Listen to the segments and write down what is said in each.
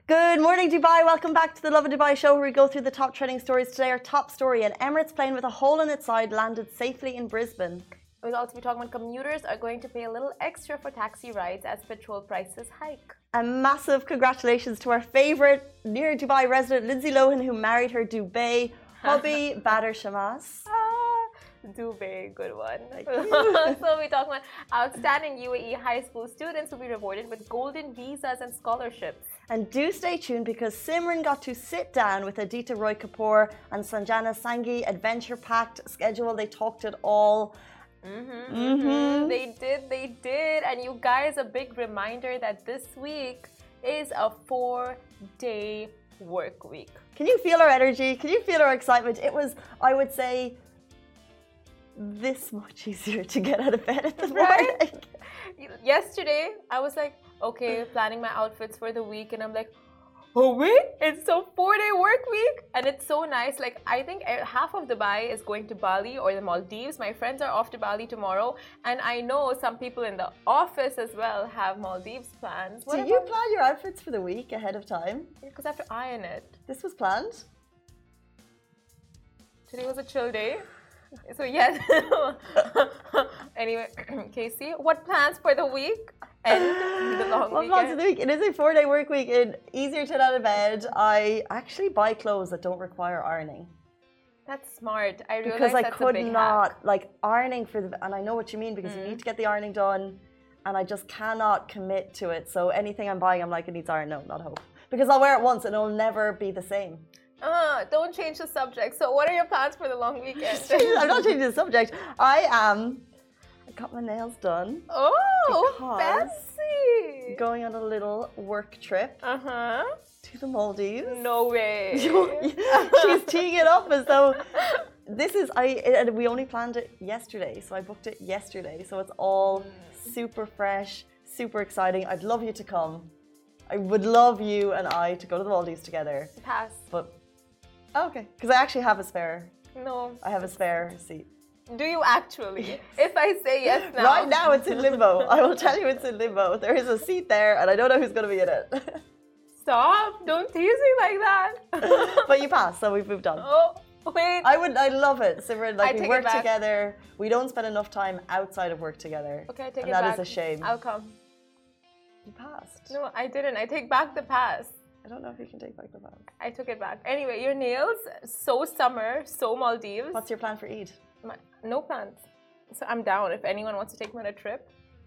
Good morning, Dubai. Welcome back to the Love in Dubai show where we go through the top trending stories today. Our top story, an Emirates plane with a hole in its side landed safely in Brisbane. We'll also be talking about commuters are going to pay a little extra for taxi rides as petrol prices hike. A massive congratulations to our favourite near Dubai resident, Lindsay Lohan, who married her Dubai hubby, Badr Shamas. Dubai, good one. So we're talking about outstanding UAE high school students will be rewarded with golden visas and scholarships. And do stay tuned because Simran got to sit down with Aditya Roy Kapoor and Sanjana Sanghi, adventure-packed schedule. They talked it all. They did. And you guys, a big reminder that this week is a 4-day work week. Can you feel our energy? Can you feel our excitement? It was, I would say, this much easier to get out of bed at the morning. Yesterday, I was like, okay, planning my outfits for the week, and I'm like, oh wait, it's a 4-day work week, and it's so nice. Like, I think half of Dubai is going to Bali or the Maldives. My friends are off to Bali tomorrow, and I know some people in the office as well have Maldives plans. Do you plan your outfits for the week ahead of time? Because I have to iron it. This was planned? Today was a chill day. So yes. Anyway, Casey, what plans for the week and the long weekend? What plans for the week? It is a 4-day work week. It's easier to get out of bed. I actually buy clothes that don't require ironing. That's smart. I realize because I that's could a big not hack. like ironing for the, and I know what you mean because you need to get the ironing done, and I just cannot commit to it. So anything I'm buying, I'm like, it needs iron. No, not hope. Because I'll wear it once and it'll never be the same. Don't change the subject. So what are your plans for the long weekend? I'm not changing the subject. I got my nails done. Oh, fancy. Going on a little work trip to the Maldives. No way. She's teeing it up as though this is, and we only planned it yesterday. So I booked it yesterday. So it's all super fresh, super exciting. I'd love you to come. I would love you and I to go to the Maldives together. Pass. But okay, because I actually have a spare. No. I have a spare seat. Do you actually? If I say yes now. Right now it's in limbo. I will tell you it's in limbo. There is a seat there and I don't know who's going to be in it. Stop. Don't tease me like that. But you passed, so we've moved on. Oh, wait. I love it. Simran, like we work it back. together. We don't spend enough time outside of work together. Okay, I take and it back. that is a shame. I'll come. You passed. No, I didn't. I take back the pass. I don't know if you can take back the pass. I took it back. Anyway, your nails, so summer, so Maldives. What's your plan for Eid? No plans. So I'm down if anyone wants to take me on a trip.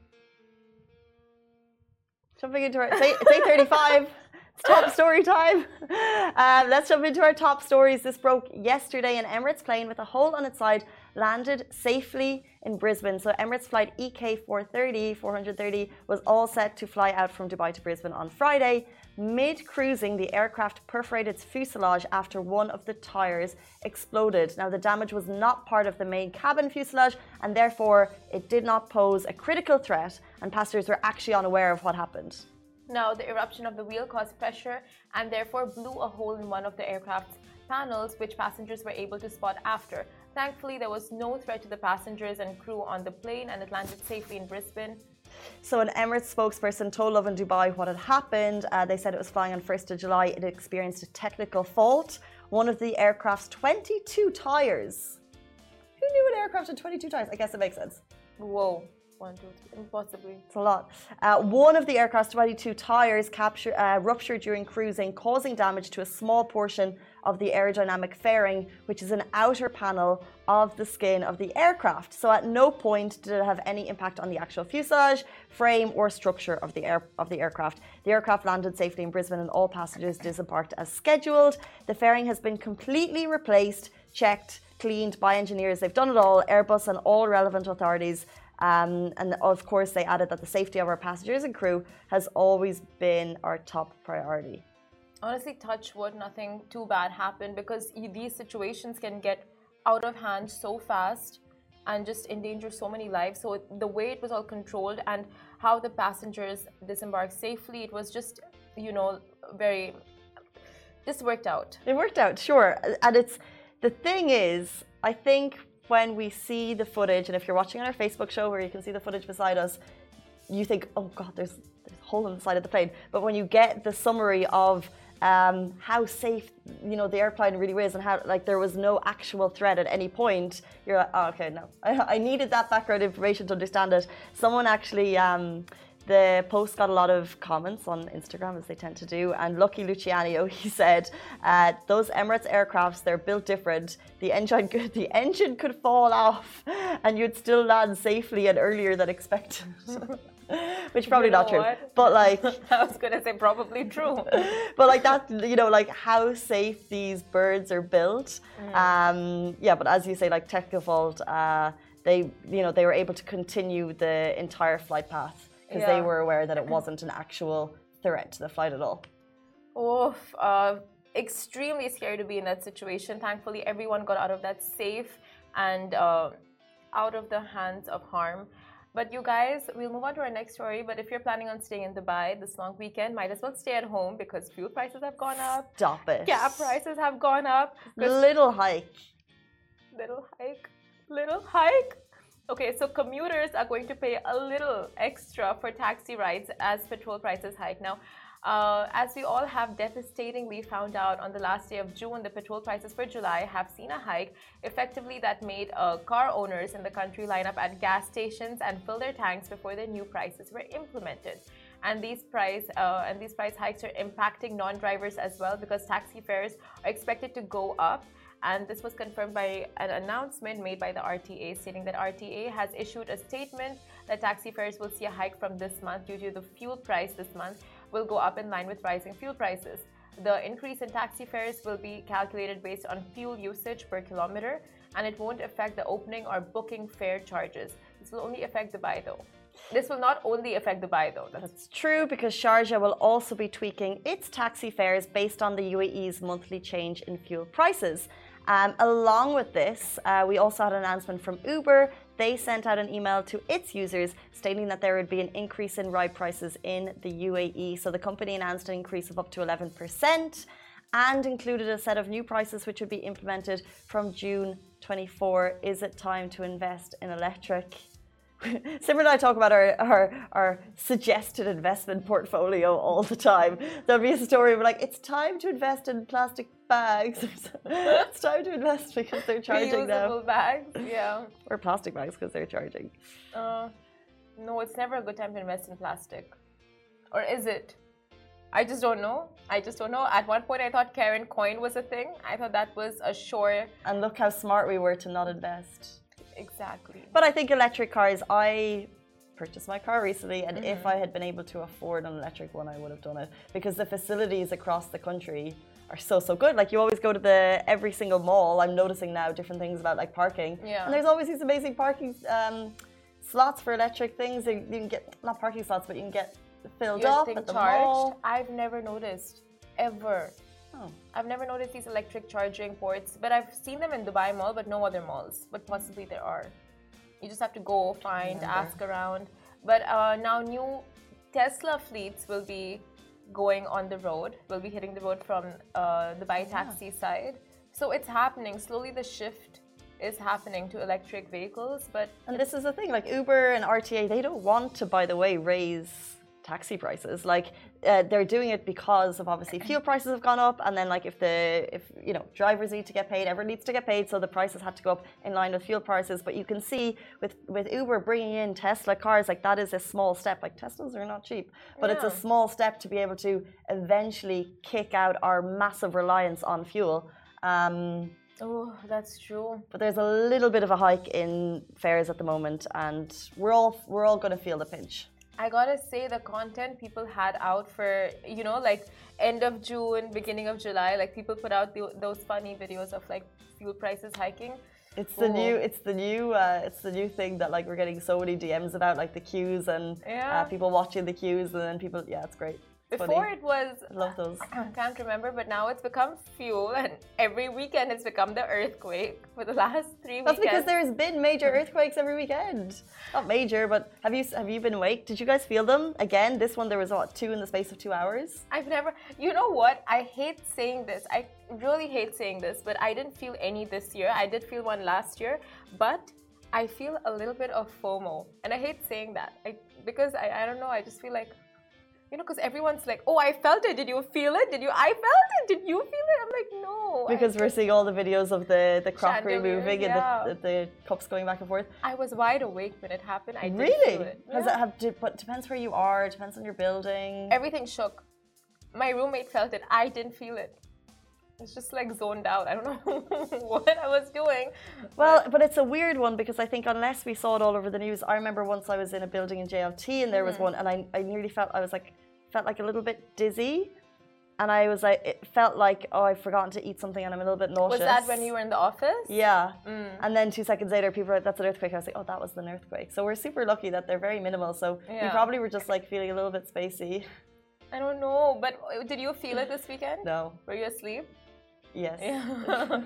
Jumping into our, it's 8:35. It's top story time. Let's jump into our top stories. This broke yesterday. An Emirates plane with a hole on its side landed safely in Brisbane. So Emirates flight EK430 was all set to fly out from Dubai to Brisbane on Friday. Mid-cruising, the aircraft perforated its fuselage after one of the tires exploded. Now, the damage was not part of the main cabin fuselage, and therefore it did not pose a critical threat, and passengers were actually unaware of what happened. Now, the eruption of the wheel caused pressure and therefore blew a hole in one of the aircraft's panels, which passengers were able to spot after. Thankfully, there was no threat to the passengers and crew on the plane, and it landed safely in Brisbane. So an Emirates spokesperson told Love in Dubai what had happened. They said it was flying on 1st of July. It experienced a technical fault. One of the aircraft's 22 tires. Who knew an aircraft had 22 tires? I guess it makes sense. Whoa. 1, 2, 3, impossibly. It's a lot. One of the aircraft's 22 tires ruptured during cruising, causing damage to a small portion of the aerodynamic fairing, which is an outer panel of the skin of the aircraft. So at no point did it have any impact on the actual fuselage, frame, or structure of the aircraft. The aircraft landed safely in Brisbane and all passengers disembarked as scheduled. The fairing has been completely replaced, checked, cleaned by engineers. They've done it all, Airbus and all relevant authorities. And of course, they added that the safety of our passengers and crew has always been our top priority. Honestly, touch wood, nothing too bad happened, because these situations can get out of hand so fast and just endanger so many lives. So the way it was all controlled and how the passengers disembarked safely, it was just, this worked out. It worked out, sure. And the thing is, I think when we see the footage, and if you're watching on our Facebook show where you can see the footage beside us, you think, oh God, there's a hole in the side of the plane. But when you get the summary of how safe, the airplane really is, and how like there was no actual threat at any point, you're like, oh, okay, no. I needed that background information to understand it. Someone actually, the post got a lot of comments on Instagram, as they tend to do, and Lucky Luciano, he said, those Emirates aircrafts, they're built different. The engine could fall off and you'd still land safely and earlier than expected. Which probably not true, but like I was gonna say probably true, but like that, like how safe these birds are built. But as you say, like technical fault, they were able to continue the entire flight path because they were aware that it wasn't an actual threat to the flight at all. Oof, extremely scary to be in that situation. Thankfully, everyone got out of that safe and out of the hands of harm. But you guys, we'll move on to our next story. But if you're planning on staying in Dubai this long weekend, might as well stay at home because fuel prices have gone up. Stop it. Cab prices have gone up. Little hike. Little hike. Okay, so commuters are going to pay a little extra for taxi rides as petrol prices hike. Now, as we all have devastatingly found out on the last day of June, the petrol prices for July have seen a hike. Effectively, that made car owners in the country line up at gas stations and fill their tanks before the new prices were implemented. And these price hikes are impacting non-drivers as well because taxi fares are expected to go up. And this was confirmed by an announcement made by the RTA, stating that RTA has issued a statement that taxi fares will see a hike from this month due to the fuel price this month will go up in line with rising fuel prices. The increase in taxi fares will be calculated based on fuel usage per kilometer, and it won't affect the opening or booking fare charges. This will only affect Dubai though. This will not only affect Dubai though. That's true because Sharjah will also be tweaking its taxi fares based on the UAE's monthly change in fuel prices. Along with this, we also had an announcement from Uber. They sent out an email to its users stating that there would be an increase in ride prices in the UAE. So the company announced an increase of up to 11% and included a set of new prices which would be implemented from June 24. Is it time to invest in electric? Simran and I talk about our suggested investment portfolio all the time. There'll be a story of like, it's time to invest in plastic bags. It's time to invest because they're charging now. Reusable bags, yeah. Or plastic bags because they're charging. No, it's never a good time to invest in plastic. Or is it? I just don't know. At one point I thought Karen coin was a thing. I thought that was a sure. And look how smart we were to not invest. Exactly. But I think electric cars, I purchased my car recently, and if I had been able to afford an electric one, I would have done it because the facilities across the country are so good. Like you always go to every single mall. I'm noticing now different things about like parking. Yeah. And there's always these amazing parking slots for electric things. You can get, not parking slots, but you can get filled up at the mall. I've never noticed, ever. Oh. I've never noticed these electric charging ports, but I've seen them in Dubai Mall, but no other malls. But possibly there are. You just have to go find, ask around. But now new Tesla fleets will be going on the road, will be hitting the road from Dubai taxi side. So it's happening. Slowly the shift is happening to electric vehicles. And this is the thing, like Uber and RTA, they don't want to, by the way, raise taxi prices. Like they're doing it because of obviously fuel prices have gone up, and then like if drivers need to get paid, everyone needs to get paid, so the prices had to go up in line with fuel prices. But you can see with Uber bringing in Tesla cars, like that is a small step. Like Teslas are not cheap, but it's a small step to be able to eventually kick out our massive reliance on fuel. Oh, that's true. But there's a little bit of a hike in fares at the moment, and we're all going to feel the pinch. I gotta say, the content people had out for, like end of June, beginning of July, like people put out those funny videos of like fuel prices hiking. It's the new thing that like we're getting so many DMs about, like the queues and people watching the queues, and then people, it's great. Before it was, I love those. I can't remember, but now it's become fuel, and every weekend it's become the earthquake for the last 3 weekends. That's because there's been major earthquakes every weekend. Not major, but have you been awake? Did you guys feel them? Again, this one there was 2 in the space of 2 hours. I've never. You know what? I hate saying this. I really hate saying this, but I didn't feel any this year. I did feel one last year, but I feel a little bit of FOMO, and I hate saying that. Because I don't know. I just feel like, you know, because everyone's like, "Oh, I felt it. Did you feel it? I felt it. Did you feel it?" I'm like, "No." Because we're seeing all the videos of the crockery Chandeliers, moving yeah. and the cups going back and forth. I was wide awake when it happened. I didn't Really? feel it. Has Yeah. it have to, but depends where you are, depends on your building. Everything shook. My roommate felt it. I didn't feel it. It's just like zoned out. I don't know what I was doing. Well, but it's a weird one because I think unless we saw it all over the news, I remember once I was in a building in JLT and there was one, and I nearly felt like a little bit dizzy, and I was like, it felt like, oh, I've forgotten to eat something and I'm a little bit nauseous. Was that when you were in the office? Yeah. And then 2 seconds later, people were like, that's an earthquake. I was like, oh, that was an earthquake. So we're super lucky that they're very minimal. So we probably were just like feeling a little bit spacey. I don't know, but did you feel it this weekend? No. Were you asleep? Yes. Yeah.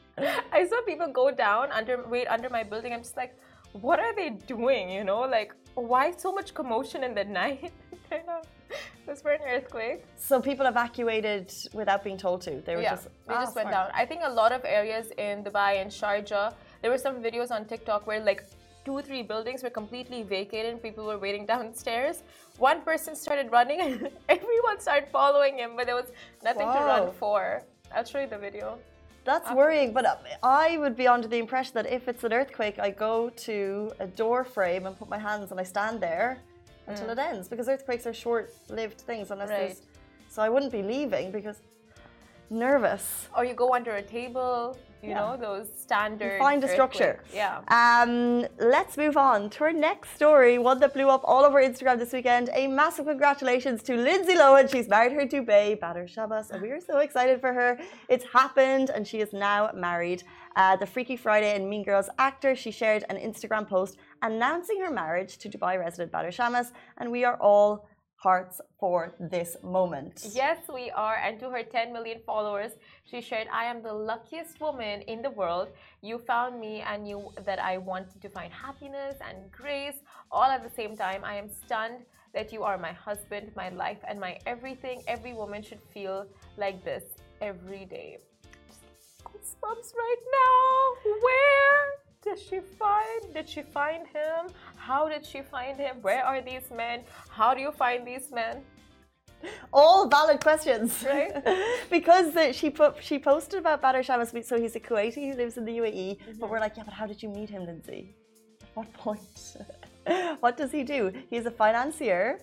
I saw people go down under my building. I'm just like, what are they doing? You know, like, why so much commotion in the night? It was for an earthquake. So people evacuated without being told to. They were they just went down. I think a lot of areas in Dubai and Sharjah, there were some videos on TikTok where like 2-3 buildings were completely vacated and people were waiting downstairs. One person started running and everyone started following him, but there was nothing to run for. I'll show you the video. That's worrying, but I would be under the impression that if it's an earthquake, I go to a door frame and put my hands and I stand there until it ends, because earthquakes are short-lived things unless there's... So I wouldn't be leaving because nervous. Or you go under a table, you know, those standard you find a structure. Yeah. Let's move on to our next story, one that blew up all over Instagram this weekend. A massive congratulations to Lindsay Lohan. She's married her Dubai Badr Shabbos, and we are so excited for her. It's happened, and she is now married. The Freaky Friday and Mean Girls actor, she shared an Instagram post announcing her marriage to Dubai resident Badr Shabbos, and we are all hearts for this moment. Yes, we are. And to her 10 million followers, she shared, I am the luckiest woman in the world. You found me and knew that I wanted to find happiness and grace all at the same time. I am stunned that you are my husband, my life, and my everything. Every woman should feel like this every day. Goosebumps right now. Where did she find him? How did she find him? Where are these men? How do you find these men? All valid questions, right? Because she posted about Badr Shabbos. So he's a Kuwaiti who lives in the UAE. But we're like, yeah, but how did you meet him, Lindsay? At what point? What does he do? He's a financier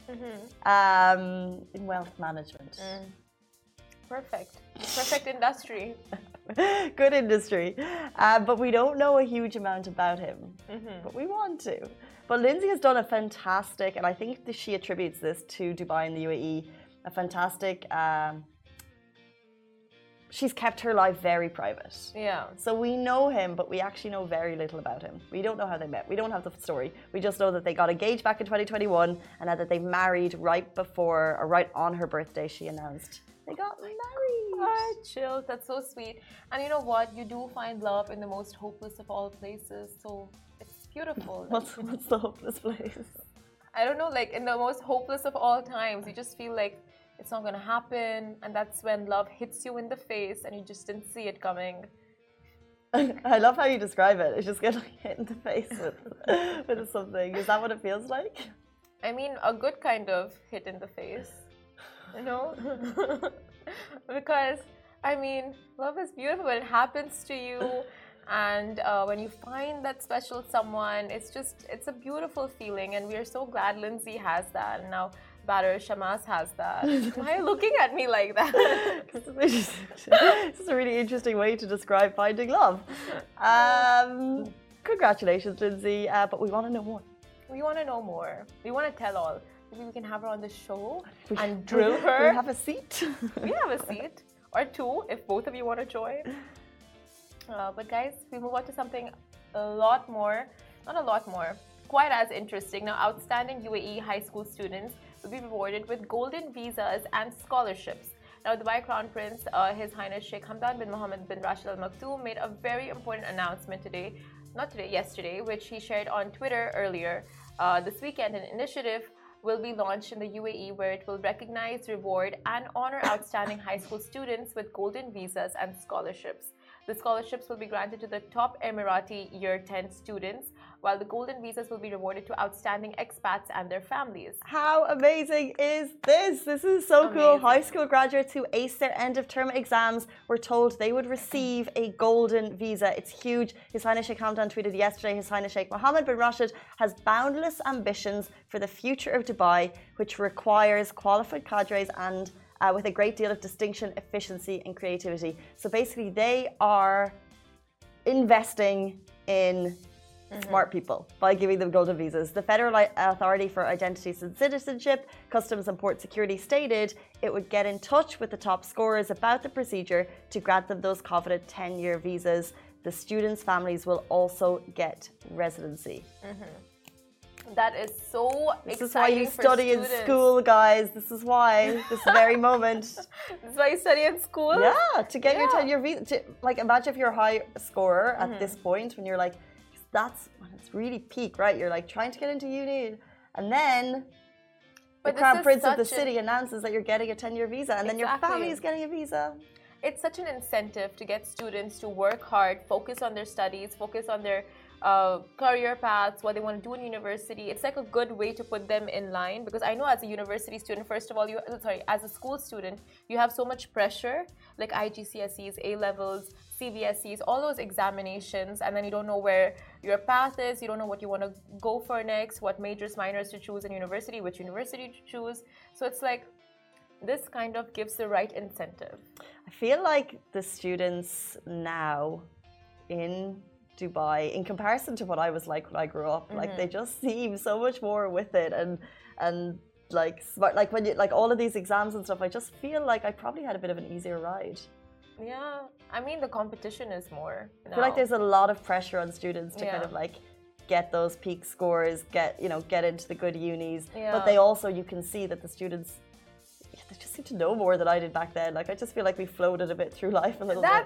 in wealth management. Perfect industry. Good industry. But we don't know a huge amount about him. But we want to. But Lindsay has done a fantastic, and I think that she attributes this to Dubai and the UAE, a fantastic... she's kept her life very private. Yeah. So we know him, but we actually know very little about him. We don't know how they met. We don't have the story. We just know that they got engaged back in 2021, and now that they married right before, or right on her birthday, she announced they got married. Oh, chill. That's so sweet. And you know what? You do find love in the most hopeless of all places. So it's beautiful. What's the hopeless place? I don't know. Like in the most hopeless of all times, you just feel like it's not going to happen. And that's when love hits you in the face and you just didn't see it coming. I love how you describe it. It's just getting hit in the face with something. Is that what it feels like? I mean, a good kind of hit in the face. You know? Because, I mean, love is beautiful when it happens to you. And when you find that special someone, it's a beautiful feeling. And we are so glad Lindsay has that. And now Badr Shabbos has that. Why are you looking at me like that? This is a really interesting way to describe finding love. Congratulations, Lindsay. But we want to know more. We want to know more. We want to tell all. Maybe we can have her on the show and drill her. We have a seat. We have a seat. Or two, if both of you want to join. But guys, we move on to something quite as interesting. Now, outstanding UAE high school students will be rewarded with golden visas and scholarships. Now, Dubai Crown Prince, His Highness Sheikh Hamdan bin Mohammed bin Rashid Al Maktoum made a very important announcement yesterday, which he shared on Twitter earlier. This weekend, an initiative will be launched in the UAE where it will recognize, reward, and honor outstanding high school students with golden visas and scholarships. The scholarships will be granted to the top Emirati Year 10 students, while the golden visas will be rewarded to outstanding expats and their families. How amazing is this? This is so cool. Amazing. High school graduates who ace their end of term exams were told they would receive a golden visa. It's huge. His Highness Sheikh Hamdan tweeted yesterday, His Highness Sheikh Mohammed bin Rashid has boundless ambitions for the future of Dubai, which requires qualified cadres and with a great deal of distinction, efficiency and creativity. So basically they are investing in smart people by giving them golden visas. The Federal Authority for Identities and Citizenship, Customs and Port Security stated it would get in touch with the top scorers about the procedure to grant them those coveted 10-year visas. The students' families will also get residency. That is so exciting. This is why you for study students. in school, guys. This is why. This very moment. This is why you study in school? Yeah, to get your 10-year visa. Like, imagine if you're a high scorer at this point when you're like, that's when it's really peak, right? You're like trying to get into uni, and then the Crown Prince of the city announces that you're getting a 10-year visa, and then your family is getting a visa. It's such an incentive to get students to work hard, focus on their studies, focus on their career paths, what they want to do in university. It's like a good way to put them in line, because I know as a university student, first of all, as a school student, you have so much pressure, like IGCSEs, A levels, CBSEs, all those examinations, and then you don't know where your path is, you don't know what you want to go for next, what majors, minors to choose in university, which university to choose. So it's like this kind of gives the right incentive. I feel like the students now in Dubai, in comparison to what I was like when I grew up, like they just seem so much more with it and like smart. Like when you like all of these exams and stuff, I just feel like I probably had a bit of an easier ride. Yeah, I mean the competition is more now. I feel like there's a lot of pressure on students to kind of like get those peak scores, get into the good unis. But they also, you can see that the students, they just seem to know more than I did back then. Like I just feel like we floated a bit through life a little bit.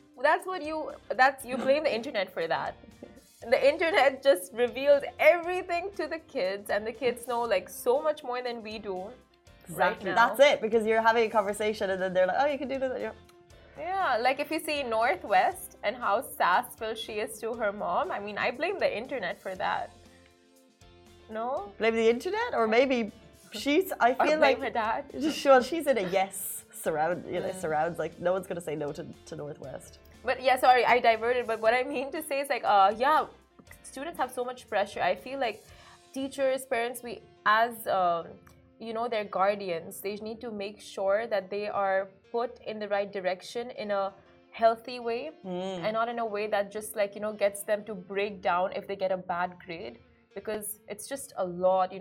You blame the internet for that. The internet just reveals everything to the kids, and the kids know like so much more than we do. Exactly. Right now. That's it, because you're having a conversation and then they're like, oh, you can do this. Yeah, like if you see Northwest and how sassful she is to her mom, I mean, I blame the internet for that. No? Blame the internet? Or maybe I feel like her dad. Well, she's in a yes surrounds, like no one's going to say no to Northwest. But yeah, sorry, I diverted. But what I mean to say is like, students have so much pressure. I feel like teachers, parents, we as their guardians, they need to make sure that they are put in the right direction in a healthy way and not in a way that just like gets them to break down if they get a bad grade, because it's just a lot,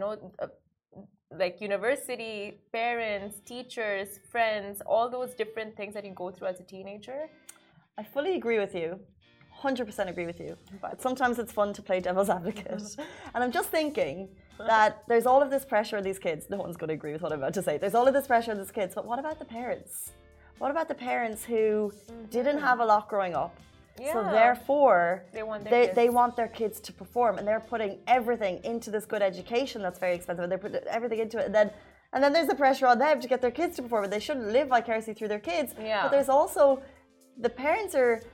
like university, parents, teachers, friends, all those different things that you go through as a teenager. I fully agree with you. 100% agree with you. But sometimes it's fun to play devil's advocate. And I'm just thinking that there's all of this pressure on these kids. No one's going to agree with what I'm about to say. There's all of this pressure on these kids. But what about the parents? What about the parents who didn't have a lot growing up? Yeah. So therefore, they want their kids to perform. And they're putting everything into this good education that's very expensive. And they're putting everything into it. And then there's the pressure on them to get their kids to perform. And they shouldn't live vicariously through their kids. Yeah. But there's also, the parents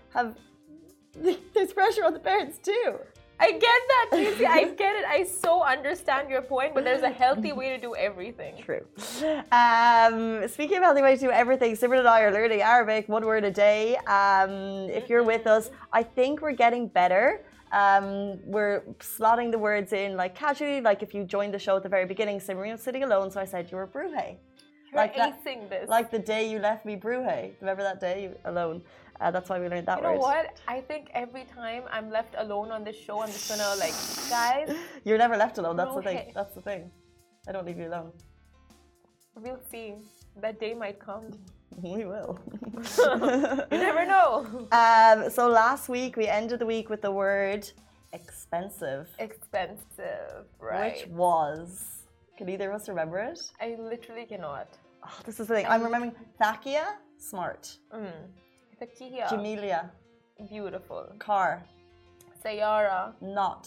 there's pressure on the parents too. I get that, Tracy. I get it. I so understand your point, but there's a healthy way to do everything. True. Speaking of healthy way to do everything, Simran and I are learning Arabic, 1 word a day. If you're with us, I think we're getting better. We're slotting the words in like casually, like if you joined the show at the very beginning, Simran was sitting alone, so I said you were Bruhe. You're acing this. Like the day you left me Bruhe. Remember that day alone? That's why we learned that word. You know what? I think every time I'm left alone on this show, I'm just gonna like, guys. You're never left alone. That's the thing. That's the thing. I don't leave you alone. We'll see. That day might come. We will. You never know. So last week we ended the week with the word expensive. Expensive, right? Which was. Can either of us remember it? I literally cannot. Oh, this is the thing. I'm remembering Thakia, smart. Thakia. Jamelia. Beautiful. Car. Sayara. Not.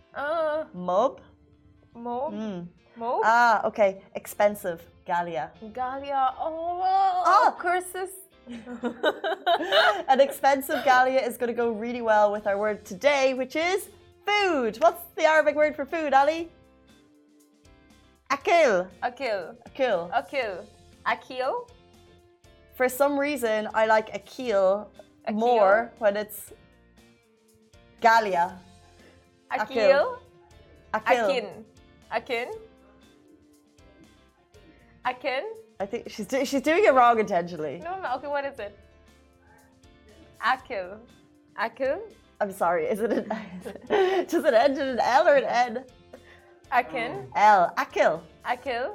Mob. Okay. Expensive. Galia. Galia. Oh, curses. An expensive Galia is going to go really well with our word today, which is food. What's the Arabic word for food, Ali? Akil. Akil. Akil. Akil. Akil? For some reason, I like akil more when it's Galia. Akil? Akil. Akin. Akin? Akin? I think she's doing it wrong intentionally. No, okay, what is it? Akil. Akil? I'm sorry, is it does it end in an L or an N? Akin? L. Akil. Akil?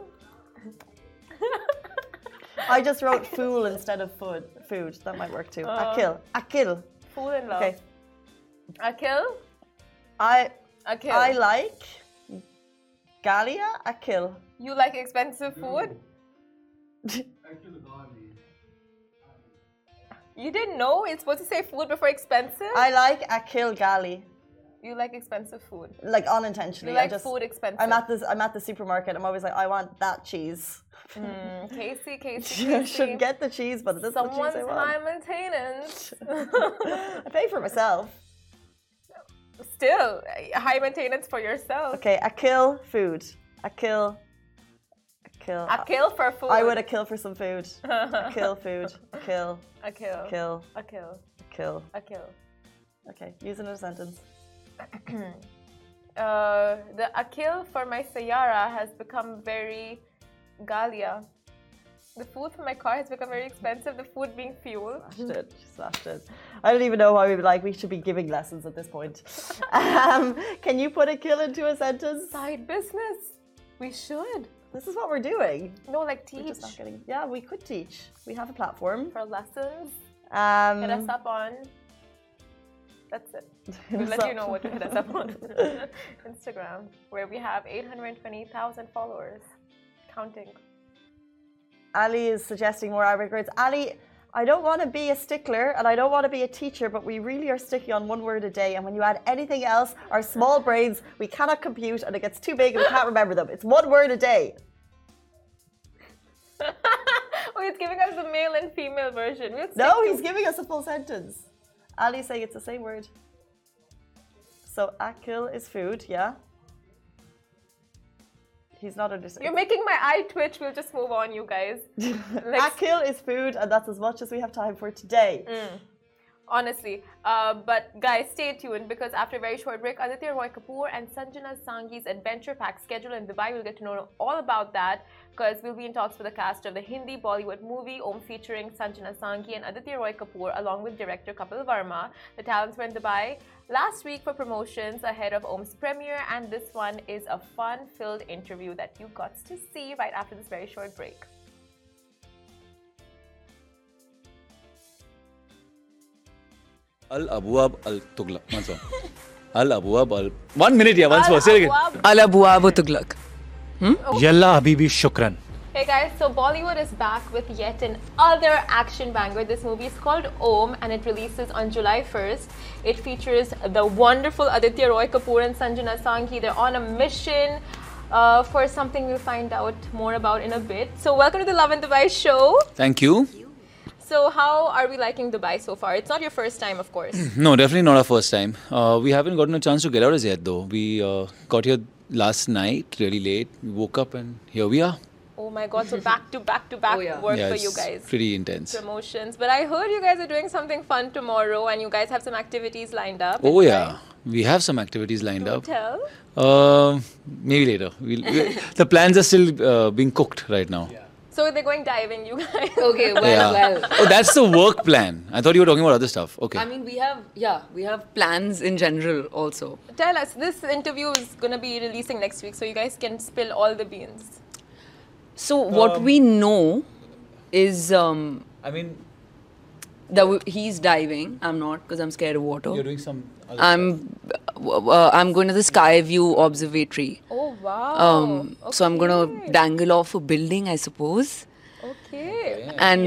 I just wrote fool instead of food. Food. That might work too. Akil. Akil. Fool in love. Okay. Akil? Akil. I like Galia. Akil. You like expensive food? You didn't know it's supposed to say food before expensive? I like Akil Gali. You like expensive food. Like unintentionally. You like food expensive. I'm at the supermarket. I'm always like, I want that cheese. Casey. I should get the cheese, but this is the cheese I want. Someone's high maintenance. I pay for myself. Still, high maintenance for yourself. Okay, Akil food. Akil for food. I would Akil for some food. Akil food. Akil. Akil. Okay, use it in a sentence. The Akil for my Sayara has become very Galia. The food for my car has become very expensive, the food being fuel. She smashed it. I don't even know why we should be giving lessons at this point. Can you put Akil into a sentence? Side business. We should. This is what we're doing. No, like teach. We're just not getting, yeah, we could teach. We have a platform. For lessons. Hit us up on. That's it. We'll let you know what to hit us up on. Instagram, where we have 820,000 followers. Counting. Ali is suggesting more Arabic words. Ali, I don't want to be a stickler and I don't want to be a teacher, but we really are sticky on one word a day. And when you add anything else, our small brains, we cannot compute and it gets too big and we can't remember them. It's one word a day. Oh, he's giving us the male and female version. No, he's giving us a full sentence. Ali's saying it's the same word. So, akil is food, yeah? He's not understanding. You're making my eye twitch. We'll just move on, you guys. Akil is food, and that's as much as we have time for today. Honestly. But guys, stay tuned because after a very short break, Aditya Roy Kapoor and Sanjana Sanghi's adventure pack schedule in Dubai. We'll get to know all about that because we'll be in talks with the cast of the Hindi Bollywood movie Om featuring Sanjana Sanghi and Aditya Roy Kapoor along with director Kapil Verma. The talents were in Dubai last week for promotions ahead of Om's premiere, and this one is a fun-filled interview that you got to see right after this very short break. Al-Abwab al-Tughlaq. Once more. Al-Abwab al... 1 minute, yeah, once more. Say it again. Al-Abwab al-Tughlaq. Yalla Habibi Shukran. Hey guys, so Bollywood is back with yet another action banger. This movie is called Om and it releases on July 1st. It features the wonderful Aditya Roy Kapoor and Sanjana Sanghi. They're on a mission for something we'll find out more about in a bit. So welcome to the Love in Dubai show. Thank you. So how are we liking Dubai so far? It's not your first time, of course. No, definitely not our first time. We haven't gotten a chance to get out as yet though. We got here last night, really late. We woke up and here we are. Oh my god, so back to back work for you guys. Pretty intense. Promotions. But I heard you guys are doing something fun tomorrow and you guys have some activities lined up. Oh yeah, we have some activities lined up. Tell. Maybe later. The plans are still being cooked right now. Yeah. So they're going diving, you guys. Okay, well. Oh, that's the work plan. I thought you were talking about other stuff. Okay. I mean, we have plans in general also. Tell us, this interview is going to be releasing next week, so you guys can spill all the beans. So what we know is that he's diving. I'm not because I'm scared of water. You're doing some. I'm going to the Sky View Observatory. Oh wow! So I'm going to dangle off a building, I suppose. Okay. And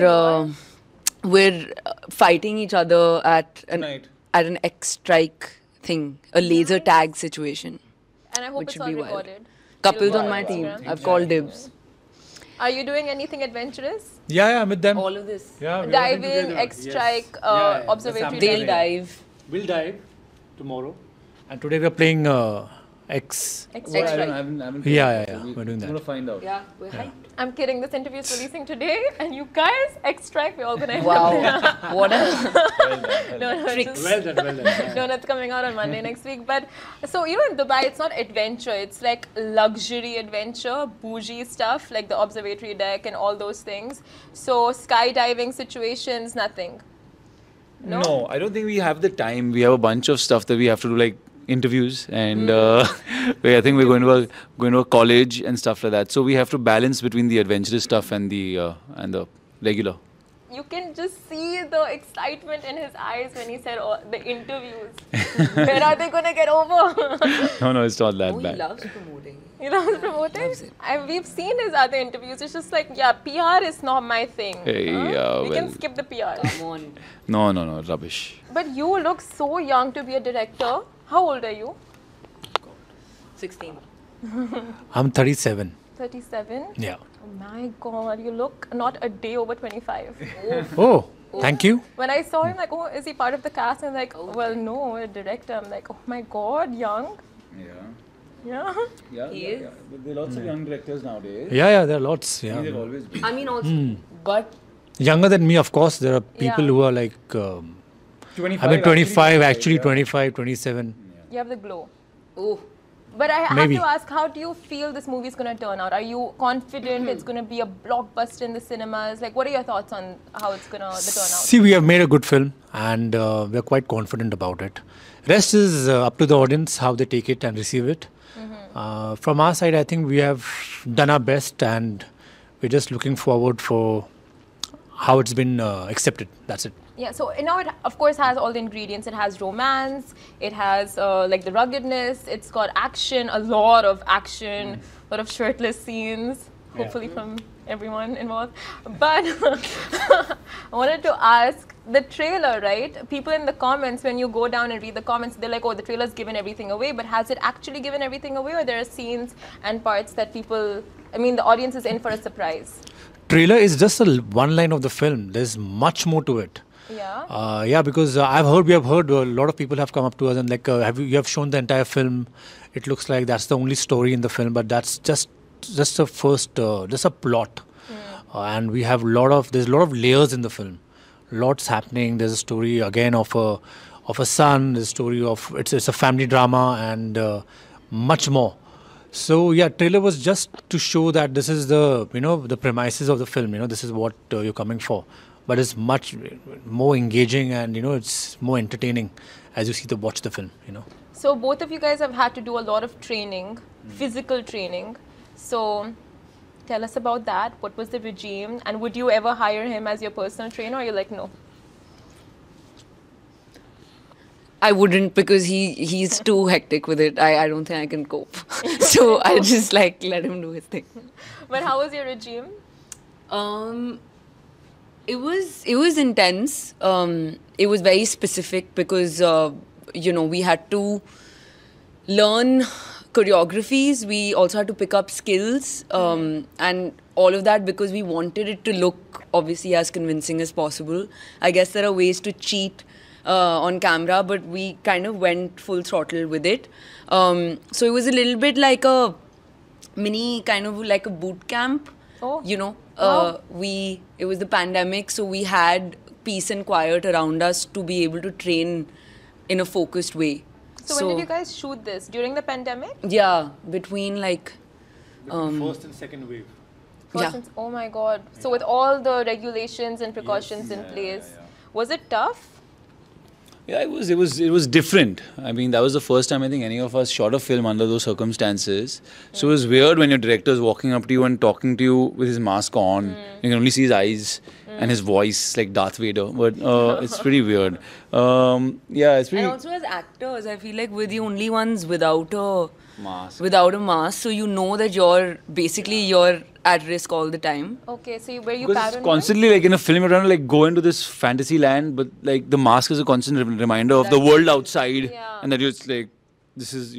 we're fighting each other at an X-strike thing, a laser tag situation. And I hope it's all recorded. Couples on my team. I've called dibs. Are you doing anything adventurous? Yeah, I'm with them. All of this. Yeah, we are Diving, together. X-Strike, Yes. Yeah, that's observatory happening. They'll diving. dive. We'll dive tomorrow. And today we're playing X. X-Strike. Well, I haven't Yeah. We're doing I'm that. gonna find out. Yeah, we're hyped. I'm kidding. This interview is releasing today, and you guys, X-Strike, we're all gonna end Wow. up What a no, tricks. Well done. no, that's coming out on Monday next week. But so in Dubai, it's not adventure. It's like luxury adventure, bougie stuff, like the observatory deck and all those things. So skydiving situations, nothing. No, I don't think we have the time. We have a bunch of stuff that we have to do, like interviews, and I think we're going to a college and stuff like that. So we have to balance between the adventurous stuff and the regular. You can just see the excitement in his eyes when he said the interviews. When are they gonna get over? No, it's not that Oh, he bad. loves promoting. You know, promoting. Loves it. We've seen his other interviews. It's just like, yeah, PR is not my thing. Hey, We can well. skip the PR. Come on. No, rubbish. But you look so young to be a director. How old are you? 16. I'm 37. 37. Yeah. Oh my God, you look not a day over 25. Oh, thank you. When I saw him, like, oh, is he part of the cast? And I'm like, well, no, a director. I'm like, oh my God, young. Yeah. Yeah. He is. But there are lots of young directors nowadays. Yeah, there are lots. Yeah. They've always been. I mean, also, but Younger than me, of course. There are people Yeah. who are like, 25, actually 25, 27. You have the glow. oh, But I have Maybe. to ask, how do you feel this movie is going to turn out? Are you confident it's going to be a blockbuster in the cinemas? Like, what are your thoughts on how it's going to the turnout? See, we have made a good film and we're quite confident about it. Rest is up to the audience how they take it and receive it. From our side, I think we have done our best and we're just looking forward for how it's been accepted. That's it. Yeah, so now it of course has all the ingredients. It has romance, it has like the ruggedness, it's got action, a lot of action, a lot of shirtless scenes, hopefully from everyone involved. But I wanted to ask, the trailer, right? People in the comments, when you go down and read the comments, they're like, oh, the trailer's given everything away, but has it actually given everything away, or there are scenes and parts that people, I mean, the audience is in for a surprise? Trailer is just one line of the film. There's much more to it. Yeah. Because we have heard a lot of people have come up to us and like, you have shown the entire film. It looks like that's the only story in the film, but that's just a first, just a plot. And we have there's a lot of layers in the film. Lots happening. There's a story again of a son. There's a story of it's a family drama and much more. So yeah, trailer was just to show that this is the the premises of the film. This is what you're coming for. But it's much more engaging and it's more entertaining as you watch the film. So both of you guys have had to do a lot of training, physical training. So tell us about that. What was the regime? And would you ever hire him as your personal trainer, or you're like, no? I wouldn't, because he's too hectic with it. I don't think I can cope. So I just let him do his thing. But how was your regime? It was intense. It was very specific because we had to learn choreographies. We also had to pick up skills and all of that because we wanted it to look obviously as convincing as possible. I guess there are ways to cheat on camera, but we kind of went full throttle with it. So it was a little bit like a mini kind of like a boot camp. Oh. Wow. It was the pandemic, so we had peace and quiet around us to be able to train in a focused way. So when did you guys shoot this? During the pandemic? Yeah, between first and second wave. Oh my God. So with all the regulations and precautions in place, was it tough? Yeah, it was different. I mean, that was the first time I think any of us shot a film under those circumstances. So it was weird when your director is walking up to you and talking to you with his mask on. You can only see his eyes and his voice like Darth Vader. But it's pretty weird. It's pretty... And also as actors, I feel like we're the only ones without a mask. So you know that you're at risk all the time. Okay, so were you Because it's paranoid? constantly like in a film, you're trying to like go into this fantasy land, but like the mask is a constant reminder of the world outside, Yeah. and that you're just like, this is your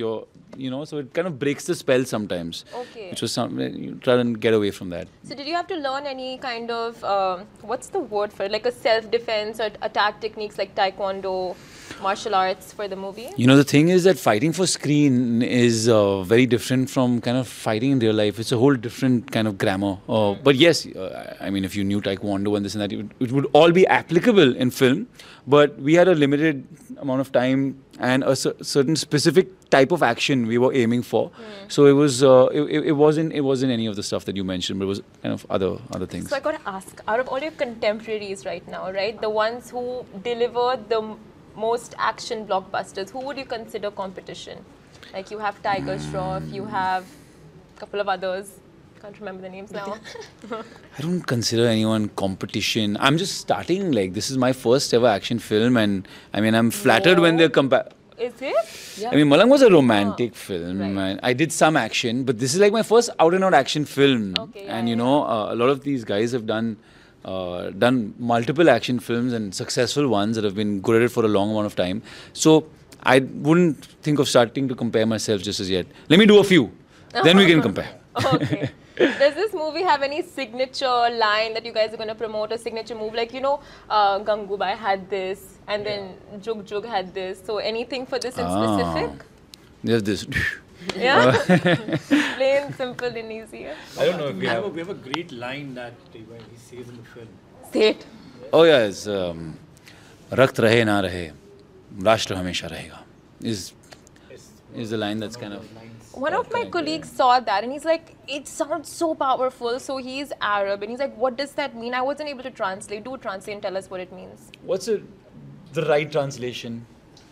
so it kind of breaks the spell sometimes. Okay. Which was you try and get away from that. So did you have to learn any kind of, what's the word for it, like a self-defense or attack techniques like taekwondo, martial arts for the movie? The thing is that fighting for screen is very different from kind of fighting in real life. It's a whole different kind of grammar. But yes, if you knew taekwondo and this and that, it would all be applicable in film. But we had a limited amount of time and a certain specific type of action we were aiming for. So it was it wasn't any of the stuff that you mentioned, but it was kind of other things. So I got to ask, out of all your contemporaries right now, right, the ones who deliver the most action blockbusters, who would you consider competition? Like you have Tiger Shroff, you have a couple of others. Can't remember the names now. I don't consider anyone competition. I'm just starting. Like, this is my first ever action film, and I'm flattered when they're Is it? Yeah. Malang was a romantic film, right. and I did some action, but this is like my first out and out action film. Okay, and a lot of these guys have done multiple action films and successful ones that have been good at it for a long amount of time. So I wouldn't think of starting to compare myself just as yet. Let me do a few, then we can compare. Okay. Does this movie have any signature line that you guys are going to promote, a signature move? Like, Gangubai had this, and then Jug Jug had this. So anything for this in specific? There's this. Yeah? Plain, simple and easy. I don't know if we have a great line that he says in the film. Say it. Oh yeah, it's Rakt rahe na rahe, Rashtra hamesha rahega. Is the line that's kind of... One of my colleagues saw that and he's like, it sounds so powerful. So he's Arab and he's like, what does that mean? I wasn't able to translate. Do translate and tell us what it means. What's the right translation?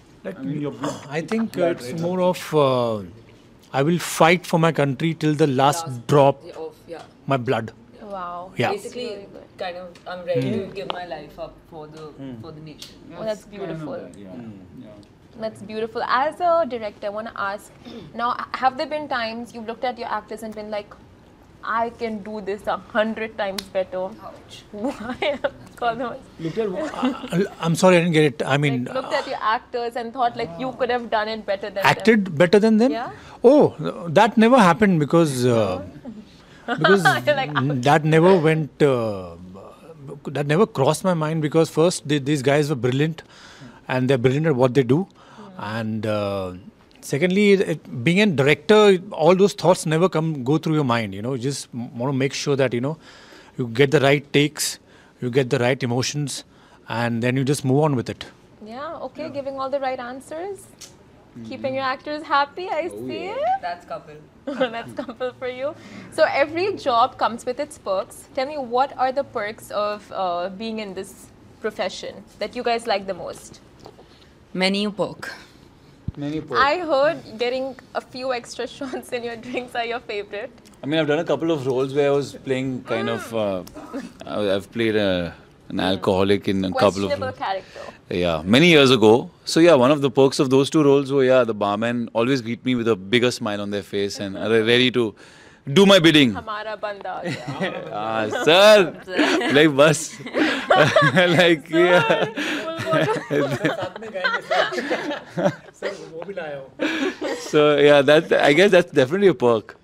I think it's more of I will fight for my country till the last drop my blood. Wow. Yeah. Basically, Really good. kind of, I'm ready to give my life up for the nation. Oh, that's beautiful. That's beautiful. As a director, I want to ask, now, have there been times you've looked at your actors and been like, I can do this 100 times better? Ouch. Why? I'm sorry, I didn't get it. Looked at your actors and thought like you could have done it better than acted them. better than them? Yeah. Oh, that never happened because Like, that never went. That never crossed my mind because first these guys were brilliant, and they're brilliant at what they do, and secondly, being a director, all those thoughts never go through your mind. You just want to make sure that you get the right takes, you get the right emotions, and then you just move on with it. yeah, okay, giving all the right answers. Keeping your actors happy, I see it. That's couple. That's couple for you. So every job comes with its perks. Tell me, what are the perks of being in this profession that you guys like the most? Many a perk. I heard getting a few extra shots in your drinks are your favorite. I've done a couple of roles where I was playing kind of... I've played an alcoholic in a couple of... Questionable character. Yeah, many years ago. So yeah, one of the perks of those two roles were, the barman always greet me with a bigger smile on their face and are ready to do my bidding. Hamara banda aa gaya. Sir! Like, bus. Like, yeah. So yeah, I guess that's definitely a perk.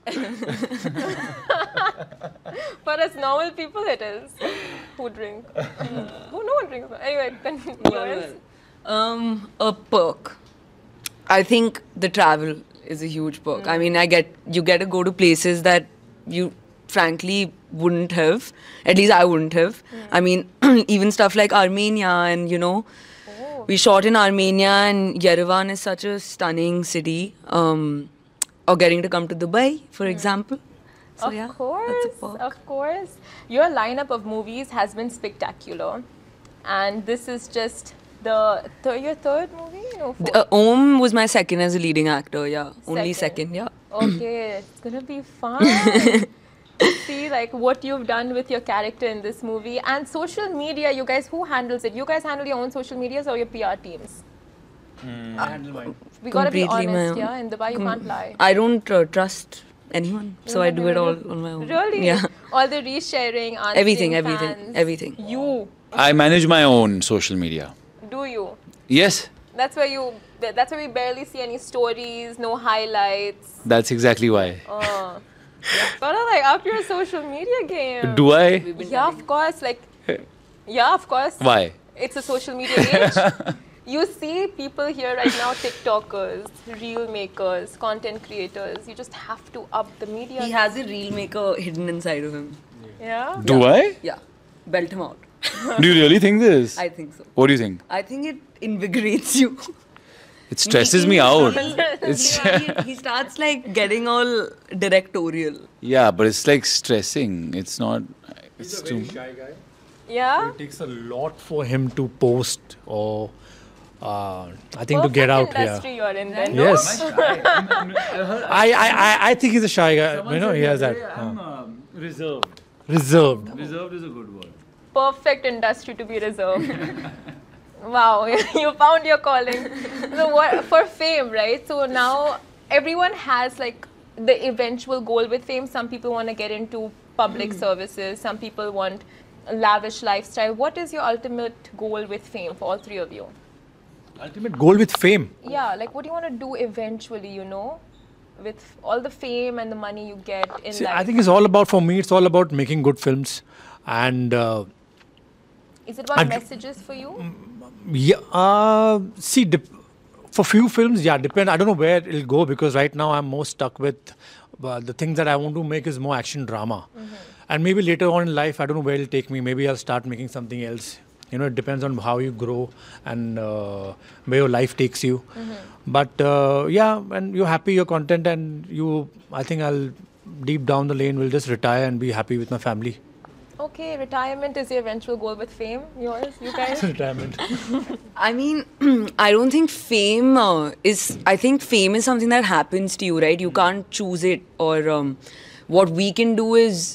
For us normal people, it is. Who drink? Who no one drinks. Anyway, continue. A perk. I think the travel is a huge perk. You get to go to places that you frankly wouldn't have. At least I wouldn't have. Even stuff like Armenia and we shot in Armenia and Yerevan is such a stunning city. Or getting to come to Dubai, for example. So, Of yeah, course, that's a perk. of course. Your lineup of movies has been spectacular. And this is just your third movie? No, fourth. Om was my second as a leading actor, yeah. Only second, yeah. Okay, it's gonna be fun. To see like what you've done with your character in this movie. And social media, you guys, who handles it? You guys handle your own social medias or your PR teams? I handle mine. We gotta be Completely my honest, own. yeah? In Dubai, you can't lie. I don't trust anyone, so I do it all on my own. Really? Yeah. All the resharing, answering Everything. You, I manage my own social media. do you? Yes. That's where you That's why we barely see any stories, no highlights. That's exactly why. Gotta like up your social media game. Do I? Yeah, of course. Like, yeah, of course. Why? It's a social media age. You see people here right now, TikTokers, reel makers, content creators. You just have to up the media. He has a reel maker hidden inside of him. Yeah. Do I? Yeah, belt him out. Do you really think this? I think so. What do you think? I think it invigorates you. It stresses me out. It's He starts like getting all directorial. yeah, but it's like stressing. It's not. It's too. Shy guy. Yeah. It takes a lot for him to post or I think to Perfect get out industry here. you're in then. Yes. I think he's a shy guy. You know, he has that. Reserved. Reserved. Reserved is a good word. Perfect industry to be reserved. Wow, you found your calling. So what for fame, right? So now everyone has like the eventual goal with fame. Some people want to get into public services. Some people want a lavish lifestyle. What is your ultimate goal with fame for all three of you? Ultimate goal with fame. Yeah, like what do you want to do eventually, you know? With all the fame and the money you get in See, life. I think it's all about, for me, it's all about making good films. And Is it about and- messages for you? see, for few films, yeah, depend. I don't know where it'll go because right now I'm more stuck with the things that I want to make is more action drama. And maybe later on in life, I don't know where it'll take me. Maybe I'll start making something else. You know, it depends on how you grow and where your life takes you. But yeah, and you're happy, your content, and I think I'll deep down the lane will just retire and be happy with my family. Okay, retirement is your eventual goal with fame. Yours, you guys? Retirement. I mean, I don't think fame is. I think fame is something that happens to you, right? You can't choose it. Or what we can do is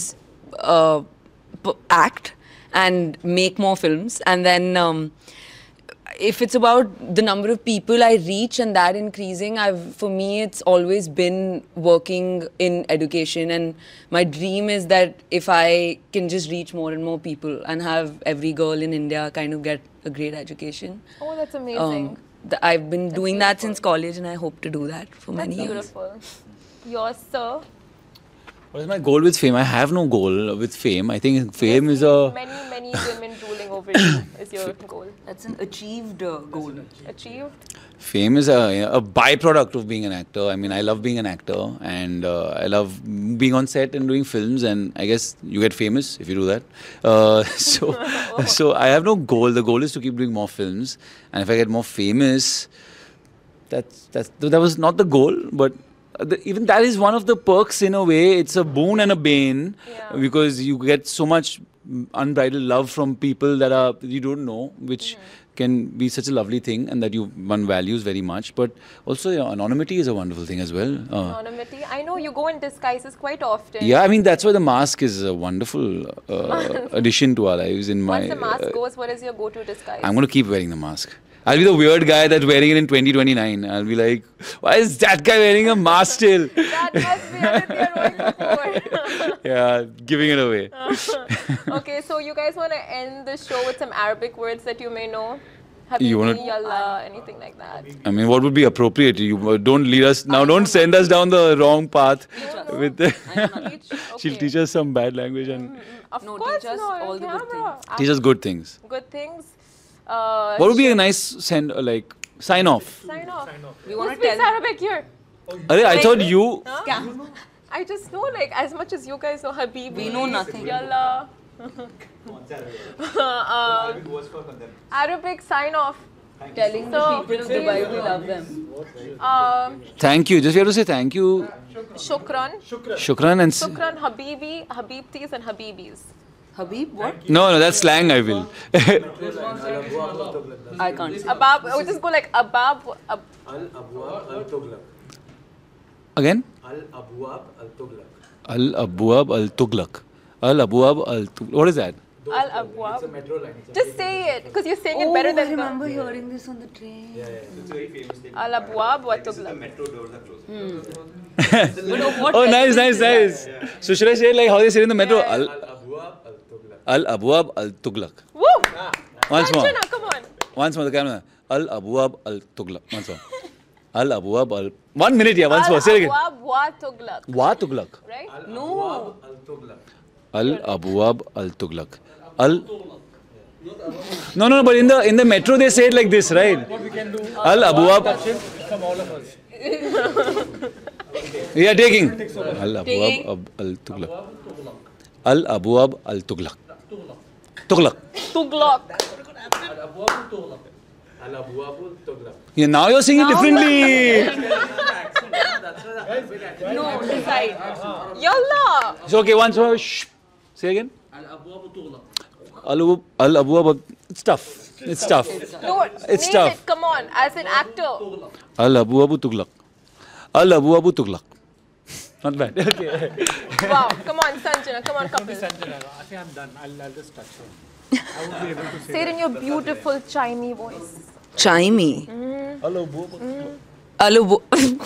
act and make more films, and then if it's about the number of people I reach and that increasing, for me it's always been working in education, and my dream is that if I can just reach more and more people and have every girl in India kind of get a great education. Oh, that's amazing. I've been doing that since college, and I hope to do that for many years. Beautiful. Yours, sir? What is my goal with fame? I have no goal with fame. I think fame is a. Many women ruling over you is your goal. That's an achieved goal. Achieved? Fame is a byproduct of being an actor. I mean, I love being an actor, and I love being on set and doing films. And I guess you get famous if you do that. So I have no goal. The goal is to keep doing more films, and if I get more famous, that was not the goal, but. Even that is one of the perks in a way. It's a boon and a bane because you get so much unbridled love from people that you don't know, which can be such a lovely thing and that one values very much. But also, anonymity is a wonderful thing as well. Anonymity. I know you go in disguises quite often. Yeah, I mean that's why the mask is a wonderful addition to our lives. Once the mask goes, what is your go-to disguise? I'm going to keep wearing the mask. I'll be the weird guy that's wearing it in 2029. I'll be like, why is that guy wearing a mask still? That must be Aditya Roy Kapoor. Yeah, giving it away. Okay, so you guys want to end the show with some Arabic words that you may know? You wanna- Habibi, Yallah, anything like that. I mean, what would be appropriate? You don't lead us now. Don't send us down the wrong path. With she'll teach us some bad language and Of No, course, teach us no, all on the good camera. teach us good things. Good things. What would be a nice sign off? Sign off. We Who want to speaks tell. Arabic here? I thought you. I just know, like, as much as you guys know Habibi. We know nothing. Yallah. Arabic sign off. Telling So, the people of Dubai we love them. Thank you. Just we have to say thank you. Shukran. Shukran and. Shukran, Habibi, Habibtis and Habibis. Habib, what? No, that's slang. I will. I can't say. Abab, I would just go like Abab. Al-Abwab al-Tughlaq. Again? Al-Abwab al-Tughlaq. Al-Abwab al-Tughlaq. Al-Abwab al-Tughlaq. What is that? Al Abwab. It's a metro line. Just say it, because you're saying it better I than remember hearing this on the train. It's a very famous thing. Al Abwab wa Tughlaq. Metro doors are closed. Oh, nice. So should I say it like how they say it in the metro? Al-Abwab al-Tughlaq. Al-Abwab al-Tughlaq. Woo! Once more. Sanjana, come on. Once more, the camera. Al Abwab Al Tughlaq. Once more. Al Abwab Al. 1 minute, yeah. Once more. Say it again. Al-Abwab wa Tughlaq. Wa Tughlaq. Right? No. Al Abwab Al Tughlaq. Al. No, but in the metro they say it like this, right? Al Abwab. From all of us. Yeah, taking. Al Abwab Al Tughlaq. Al Abwab Al Tughlaq. Tughlaq. Tughlaq. Al-Abwabul Tughlaq. Yeah, now you're saying it differently. No, decide. Yalla. It's okay, once more. Shh. Say again. Al Abwab. It's tough. It's tough. No, It's name tough. it. Come on, as an actor. Al Abwab Tughlaq. Al Abwab Tughlaq. Not bad. Okay. Wow. Come on, Sanjana. Come on, couple. Sanjana, I think I'm done. I'll just touch her. I won't be able to say Say it in your beautiful chimey voice. Chimey. Alu.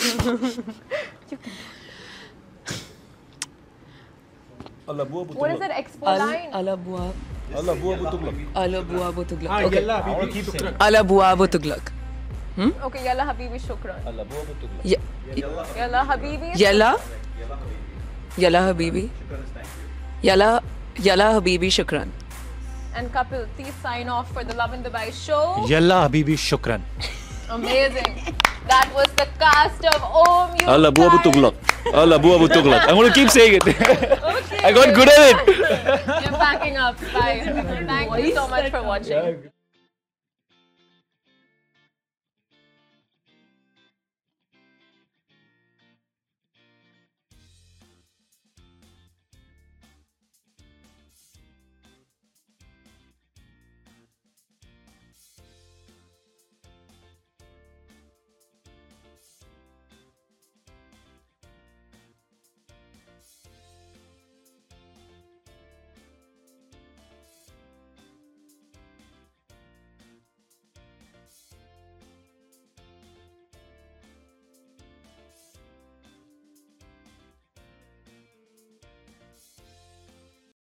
What is that expo line? Alabuab. Alabuab Tughlaq. Ah, Okay. Yalla, people keep saying. Alabuab Tughlaq. Okay, Yalla Habibi Shukran. Ye- Yalla Habibi. Yalla. Yalla Habibi. Yalla Habibi Shukran. And Kapil, please sign off for the Love in Dubai show. Yalla Habibi, shukran. Amazing. That was the cast of Om You Al Abwab Guys. Tughlaq. Al Abwab Tughlaq. I'm going to keep saying it. Okay. I got good at it. You're backing up. Bye. Thank you so much for watching.